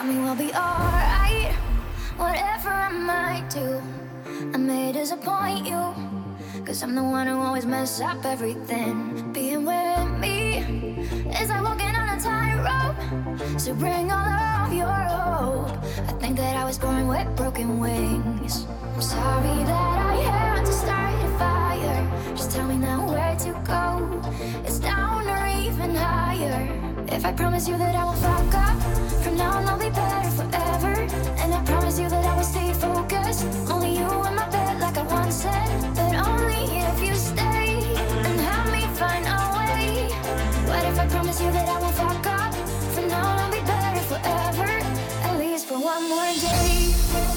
Tell me we'll be alright, whatever I might do. I may disappoint you, cause I'm the one who always mess up everything. Being with me is like walking on a tightrope, so bring all of your hope. I think that I was born with broken wings. I'm sorry that I had to start a fire. Just tell me now where to go. It's down or even higher. If I promise you that I won't fuck up, from now on I'll be better forever. And I promise you that I will stay focused. Only you in my bed like I once said. But only if you stay and help me find a way. What if I promise you that I won't fuck up? From now on I'll be better forever. At least for one more day.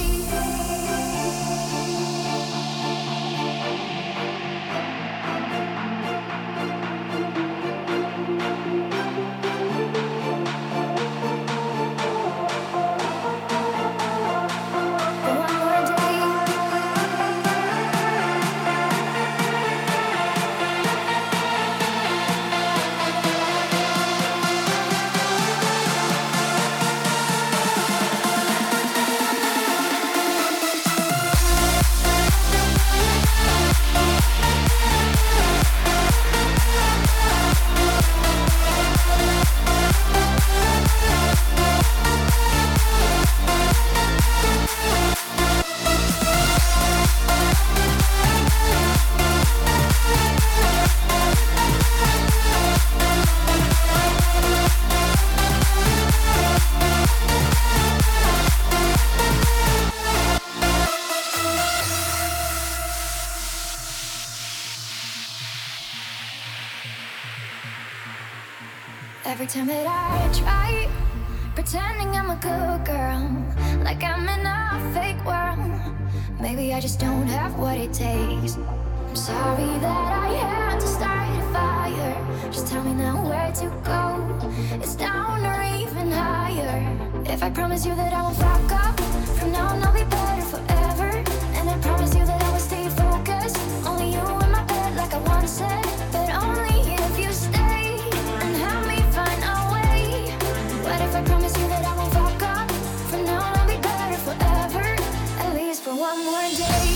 Every time that I try pretending I'm a good girl, like I'm in a fake world, maybe I just don't have what it takes. I'm sorry that I had to start a fire. Just tell me now where to go. It's down or even higher. If I promise you that I won't fuck up, from now on I'll be better forever. And I promise you that I will stay focused. Only you in my bed like I once said. But only if you stay and help me find a way. What if I promise you that I won't fuck up? From now on I'll be better forever. At least for one more day.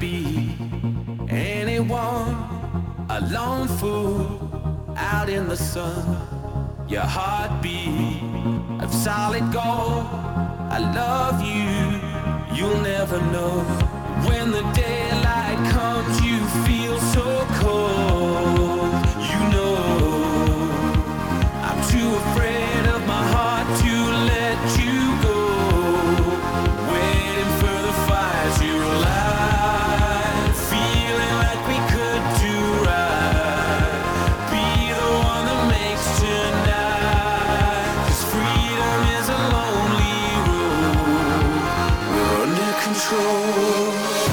be anyone, a lone fool out in the sun. Your heartbeat of solid gold. I love you, you'll never know. When the daylight comes, you feel so cold. You know, I'm too afraid of my heart to let you go. Waiting for the fire to light, feeling like we could do right. Be the one that makes tonight. 'Cause freedom is a lonely road. We're under control.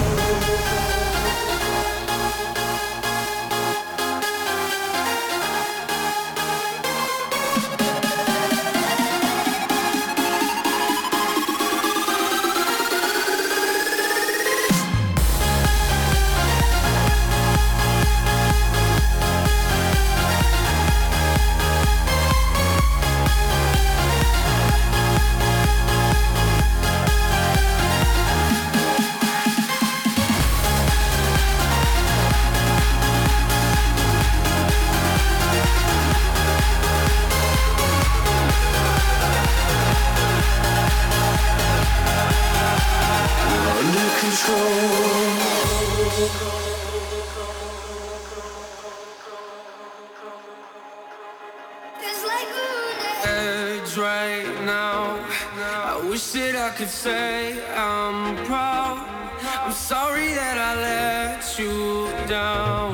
Right now, I wish that I could say I'm proud. I'm sorry that I let you down,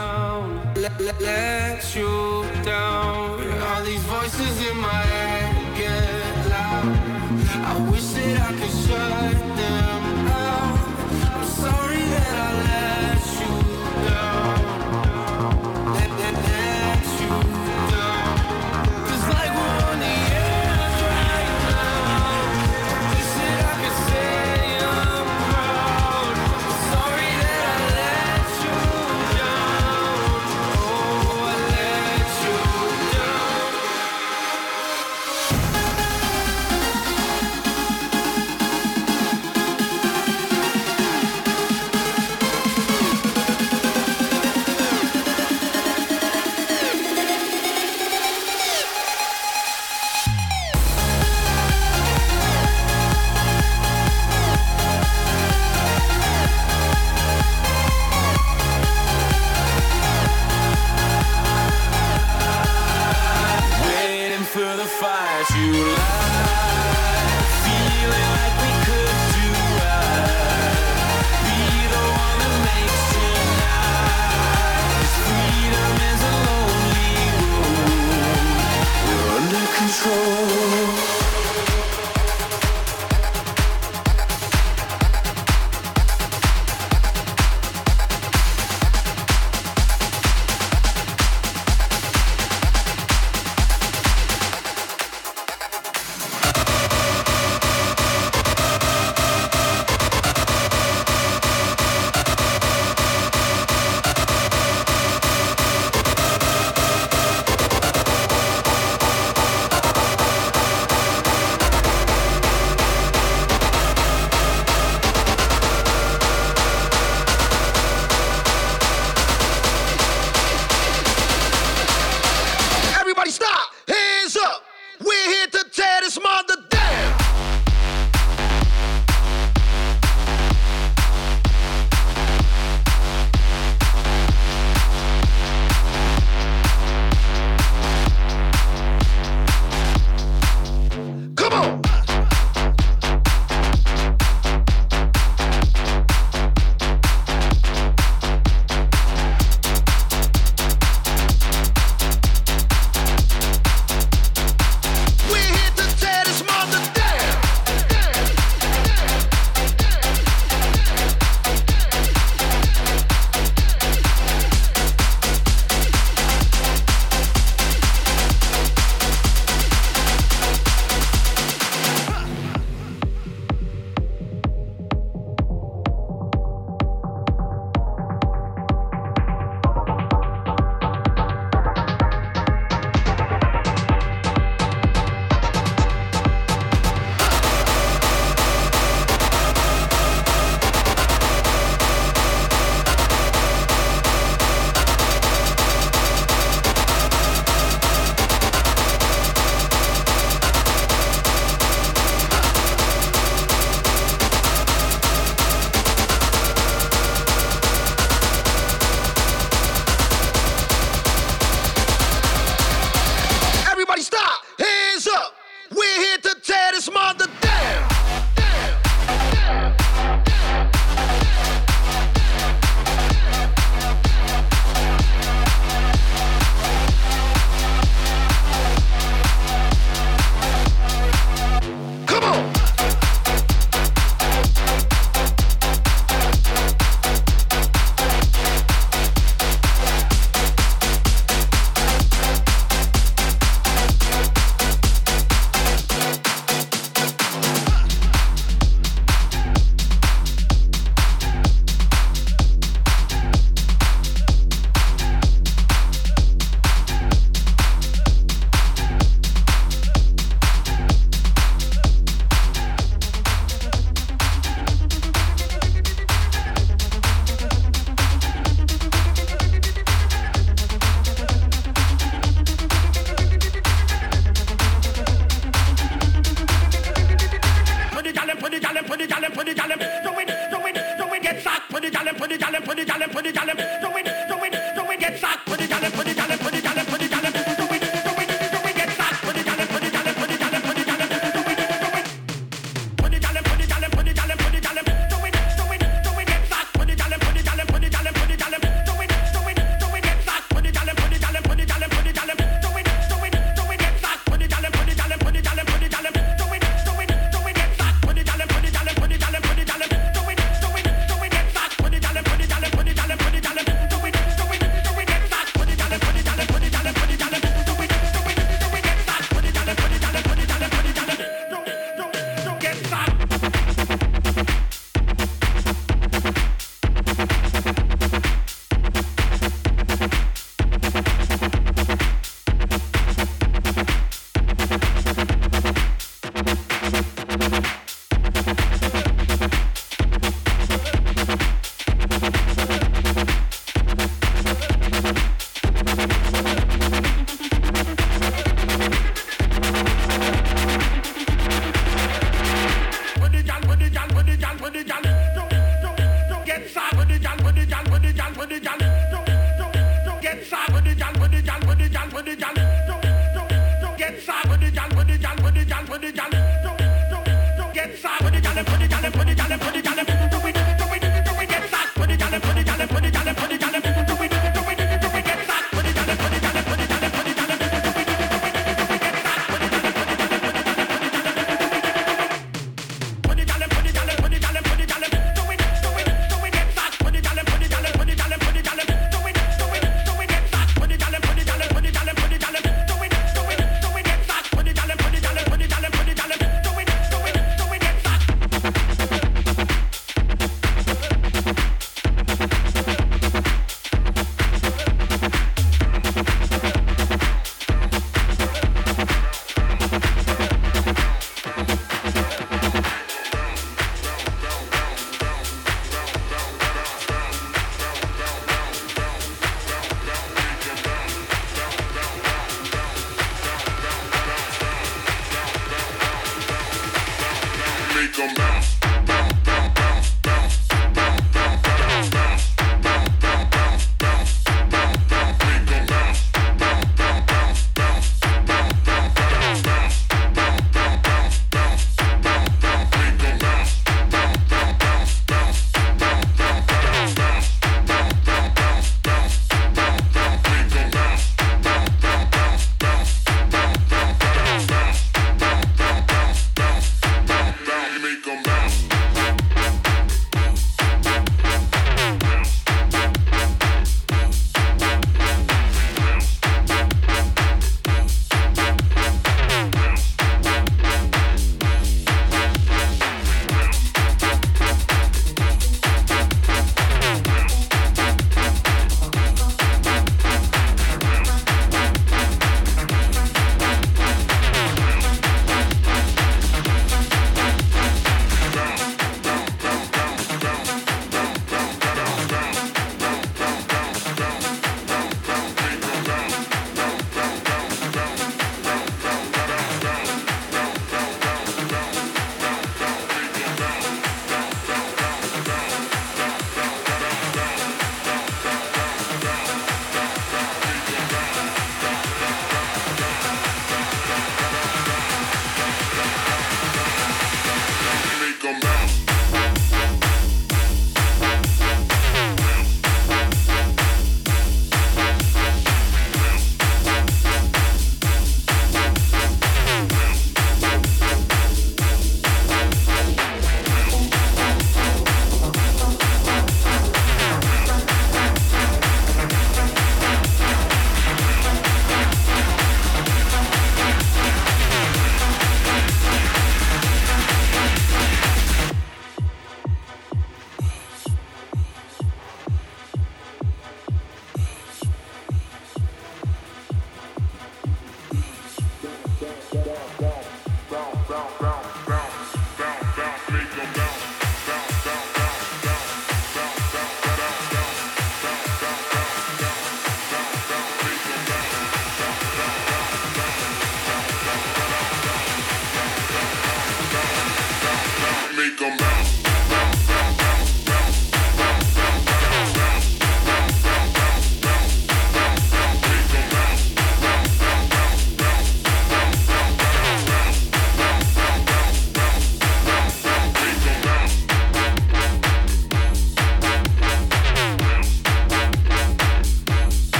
let you down. All these voices in my head get loud. I wish that I could shut them out. I'm sorry that I let you down, let you down. 'Cause like we're on the edge right now. Wish that I could say I'm proud. Sorry that I let you down. Oh, I let you down.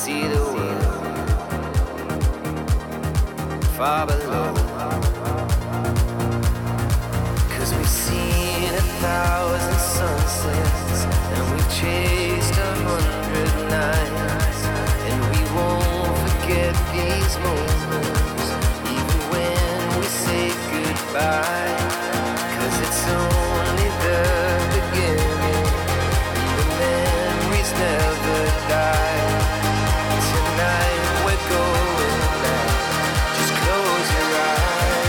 see the world far below. 'Cause we've seen 1,000 sunsets and we've chased 100 nights, and we won't forget these moments even when we say goodbye. 'Cause it's only the beginning, and the memories never die. Tonight we're going out, just close your eyes.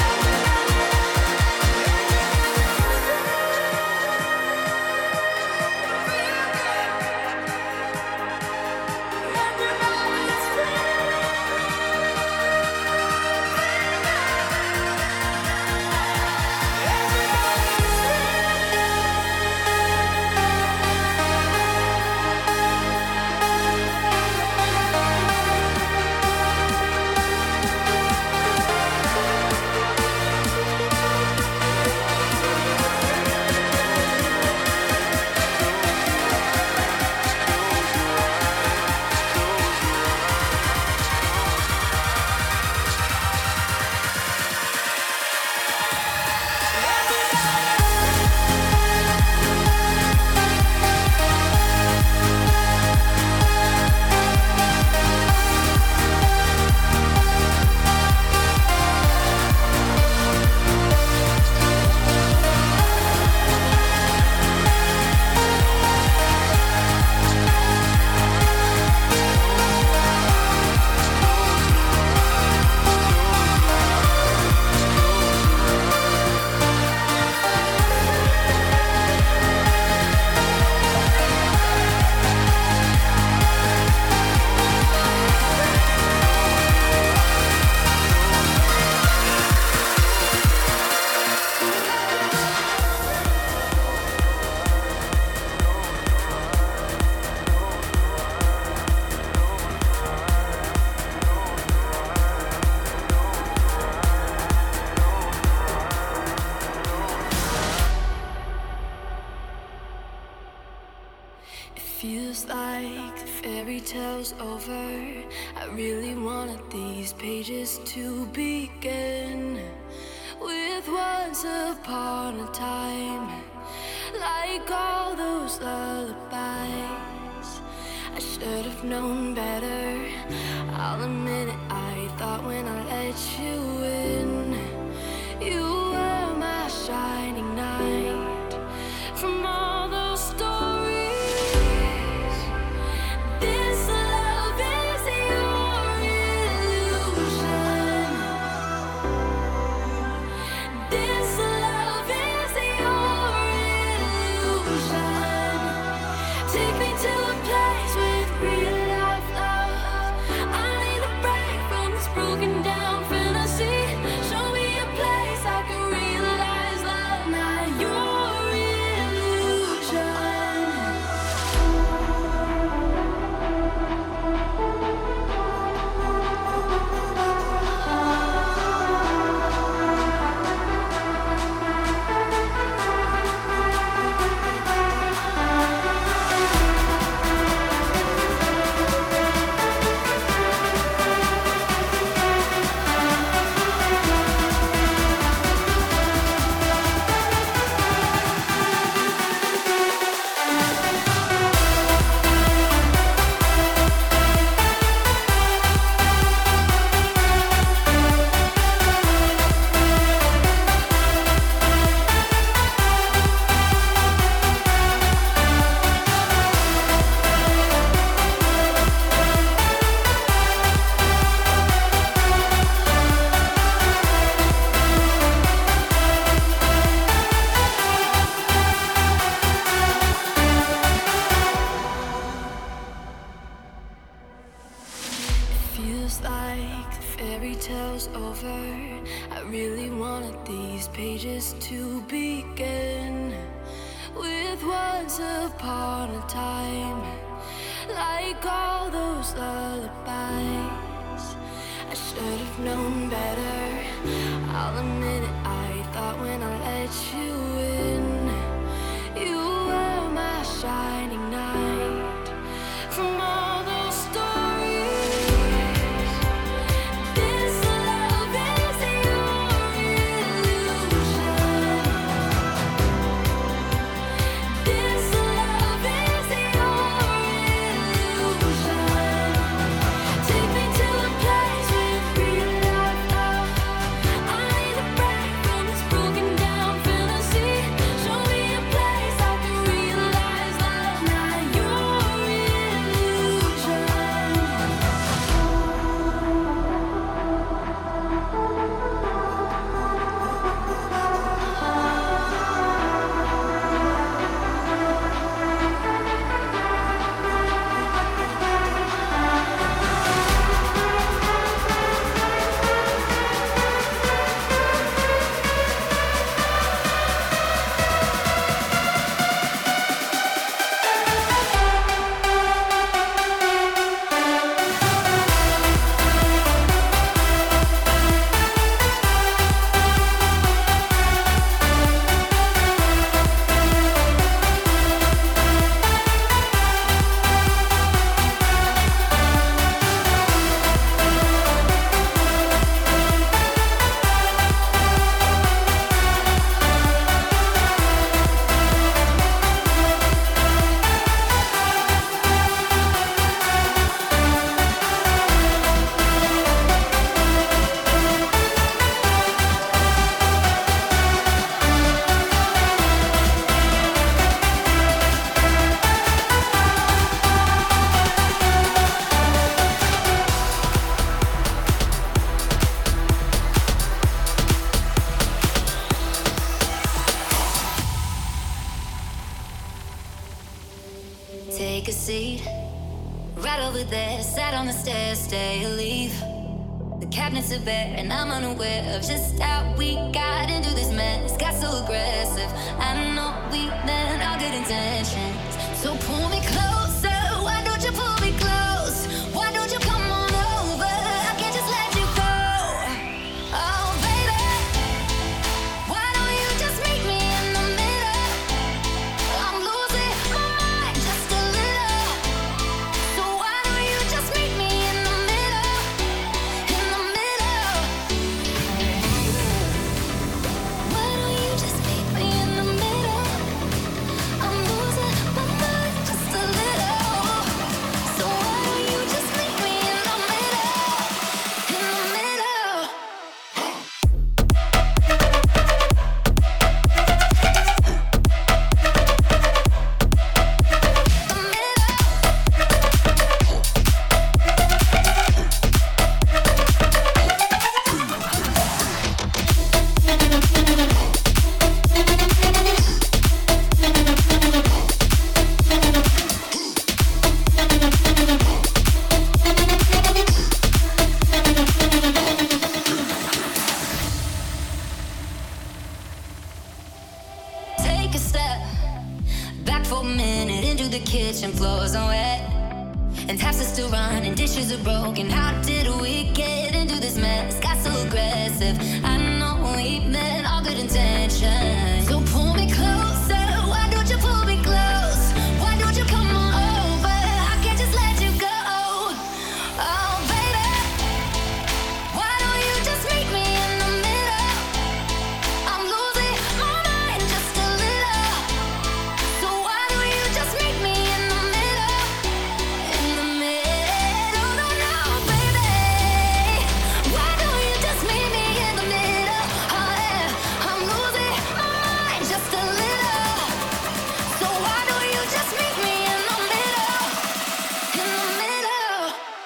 Feels like the fairy tale's over. I really wanted these pages to begin with once upon a time, like all those lullabies. I should have known better, I'll admit it. I thought when I let you in, you were my shining knight. From all those stories, this love is your illusion. This love is your illusion. Take me to a place with real life love. I need a break from this broken down fantasy. Show me a place I can realize love, not your illusion. Feels like the fairy tale's over. I really wanted these pages to begin with once upon a time, like all those lullabies. I should have known better, I'll admit it. I thought when I let you in, you were my shining knight. From all those stories, bed, sat on the stairs, stay or leave. The cabinets are bare, and I'm unaware of just how we got into this mess. Got so aggressive. I know we meant all good intentions. So pull me closer. Why don't you pull me close? Why don't you come on over? I can't just let you go. Oh, baby, why don't you just meet me in the middle? I'm losing my mind just a little. So why don't you just meet me in the middle? In the middle. Why don't you just meet me in the middle? I'm losing my mind just a little. So why don't you just meet me in the middle? In the middle. Take a step back for a minute into the kitchen, floors are wet, and taps are still running, dishes are broken. How did we get into this mess? Got so aggressive. I know we meant all good intentions. So pull me closer. Why don't you pull me close? Why don't you come on over? I can't just let you go. Oh, baby, why don't you just meet me in the middle? I'm losing my mind just a little. So why don't you just meet me in the middle? In the middle, no, no, baby. Why don't you just meet me in the middle? Oh, yeah. I'm losing my mind just a little. So why don't you just meet me in the middle? In the middle.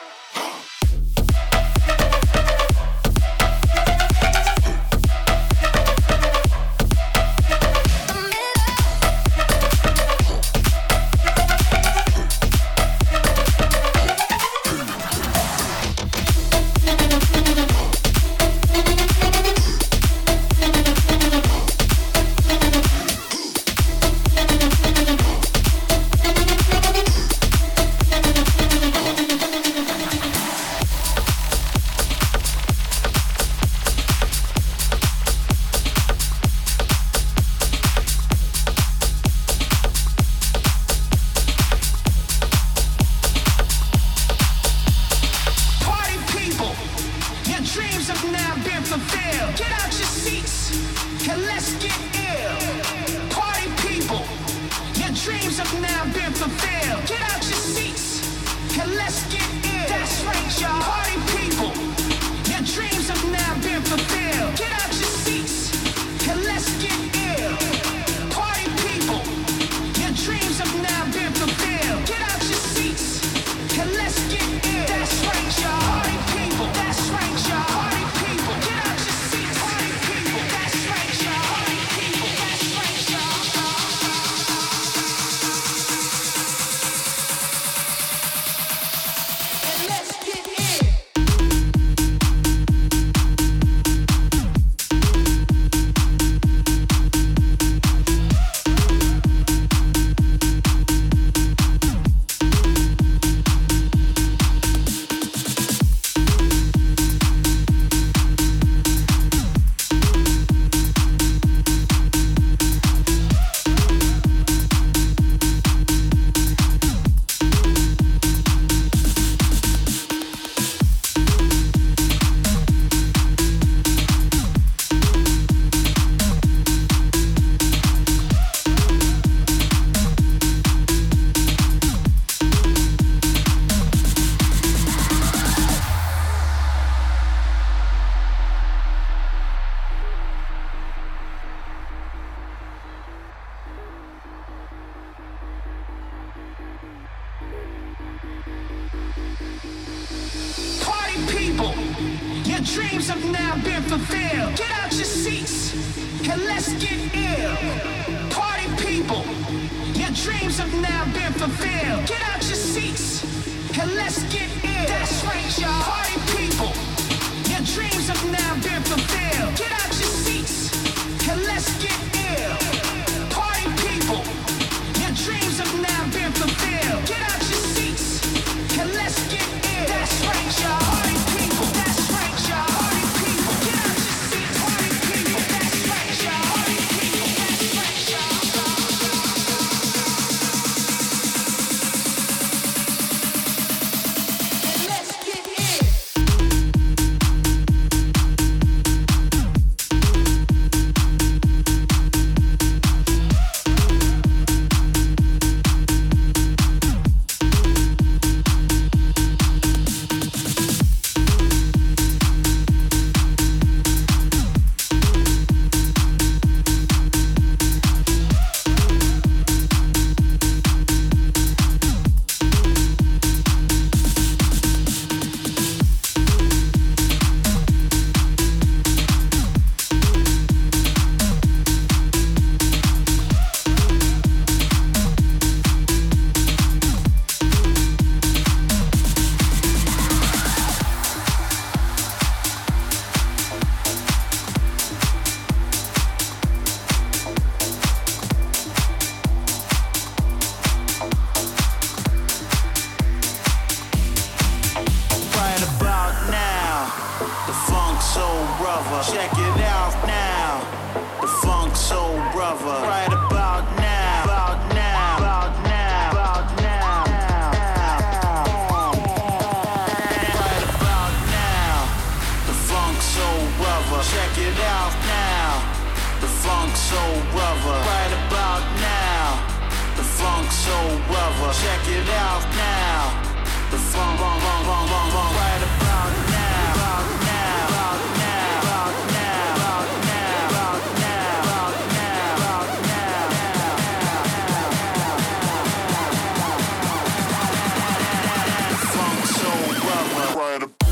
Party people, your dreams have now been fulfilled. Get out your seats and let's get ill. Party people, your dreams have now been fulfilled. Get out your seats and let's get ill. That's right, y'all. Party people, your dreams have now been fulfilled. Get out your seats and let's get ill. Party people, your dreams have now been fulfilled. Get out your seats and let's get ill. That's right, y'all. Party people, that's right, y'all. Party people, get out your seats. Party people, that's right, y'all. Party people, that's right, y'all. And let's get in. Party people, your dreams have now been fulfilled. Get out your seats and let's get ill. Party people, your dreams have now been fulfilled. Get out your seats and let's get ill. That's right, y'all. Party people, your dreams have now been fulfilled. Get out your seats and let's get ill. Party people, your dreams have now been fulfilled. Get out your seats and let's get ill. That's right, y'all. Party people, that's right, y'all. Party people, get out your seats. Party people, that's right, y'all. Party people, that's right, y'all. And let's get ill. Right about now, the Funk Soul Brother. Check it out now, the Funk Soul Brother. Right about now, about now, about now, about now. Right about now, the Funk Soul Brother. Check it out now, the Funk Soul Brother. Right about now, the Funk Soul Brother. Check it out now. The funk, right about now, about now, about now, about now, about now, about now, about now, about now. Funk Soul Brother. Right about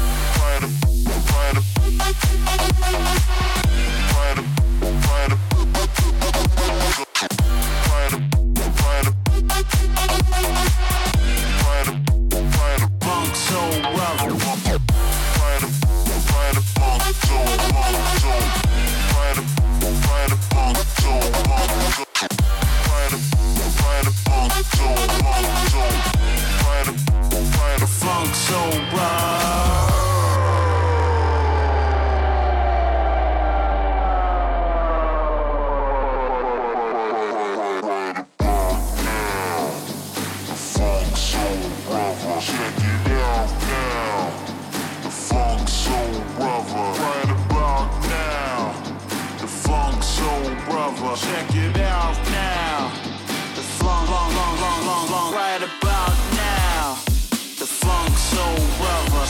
Check it out now. The funk, right about now. The Funk Soul Brother.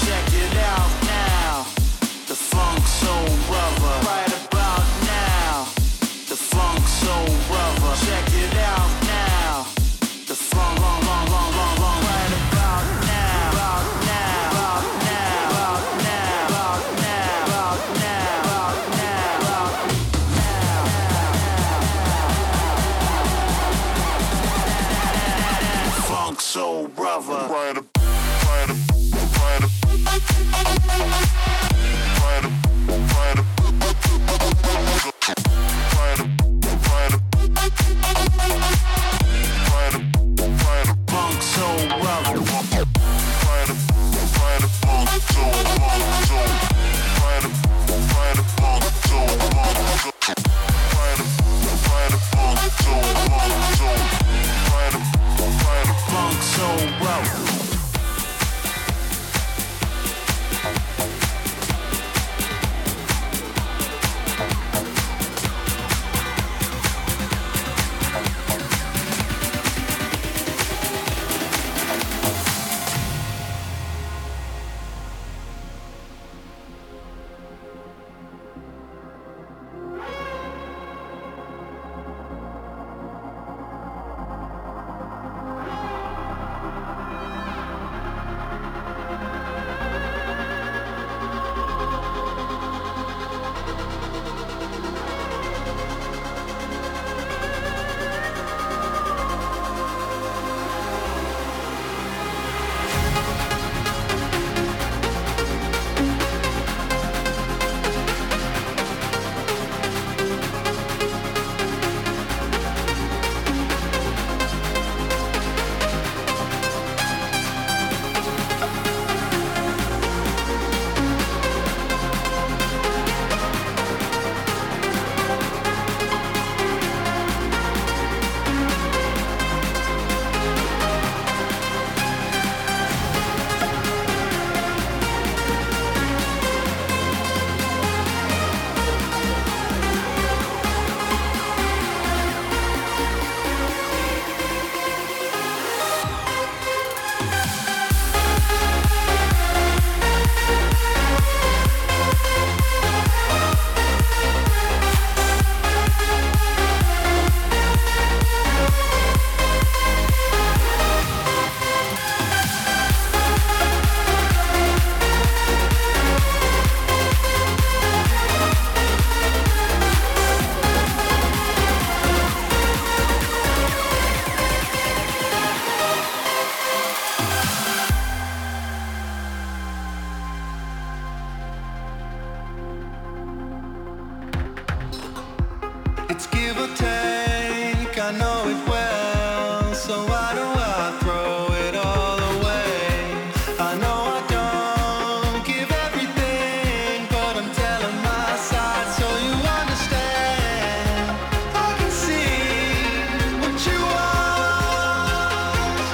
It's give or take, I know it well. So why do I throw it all away? I know I don't give everything, but I'm telling my side so you understand. I can see what you want.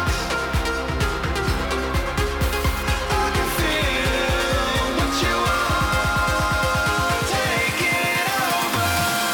I can feel what you want. Take it over.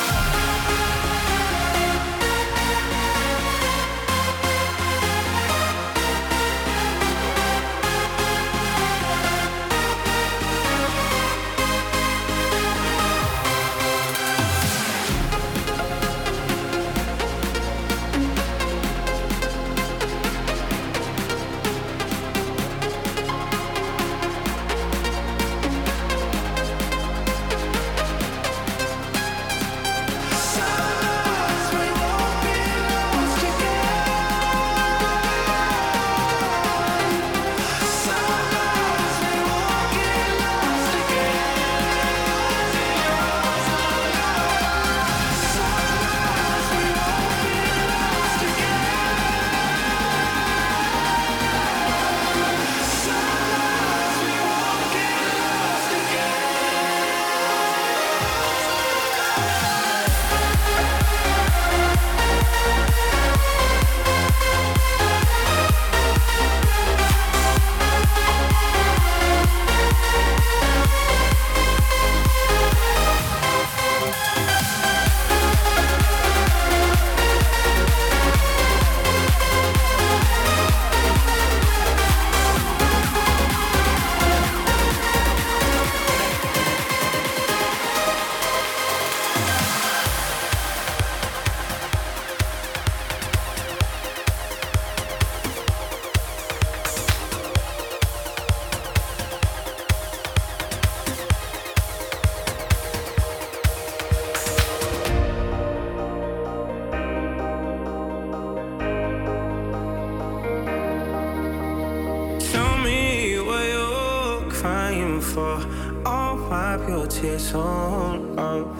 Tell me what you're crying for. I'll wipe your tears all off.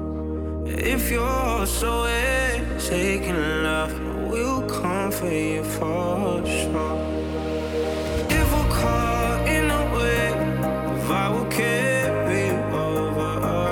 If you're so taking love, we'll comfort you for sure. If we're caught in a wave, I will carry you over.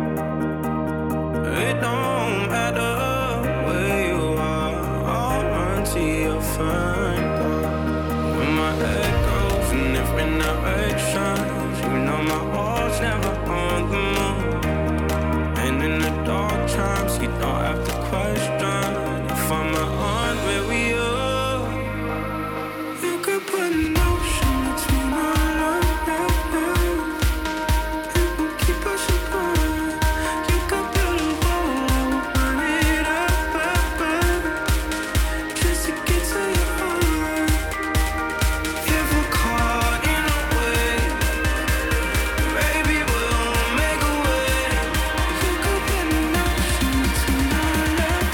It don't matter where you are, I'll run to your front door. When my head goes in different directions, you know my heart's never on the move. And in the dark times, you don't have to question if I'm on where we are. You could put an ocean between our love. It will keep us apart. You could build a wall, run it up, just to get to your heart. If we're caught in a wave, baby, we'll make a way. You could put an ocean between our love.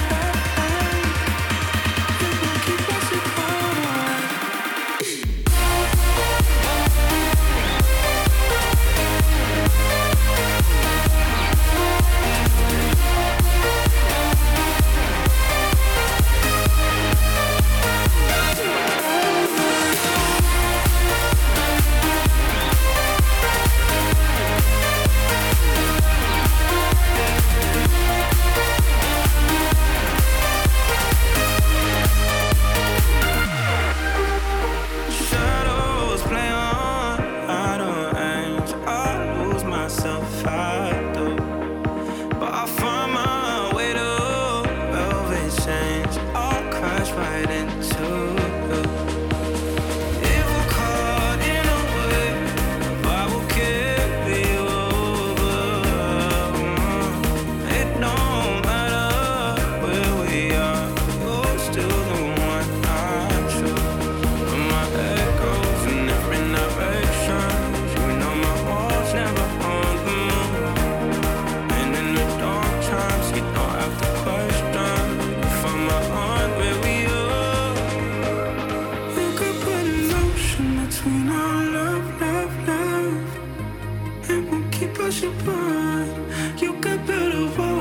It will keep us apart. Shadows play on idle hands. I lose myself, I do. But I find my way to velvet chains. I'll crash right into you. If we're caught in a wave, I will carry you over. It don't matter where we are, you're still the one I choose. When my head goes in different directions, you know my heart's never on the move. And in the dark times, you don't have to question if I'm on where we are. You could put an ocean between our love. It won't keep us apart. You could build a wall.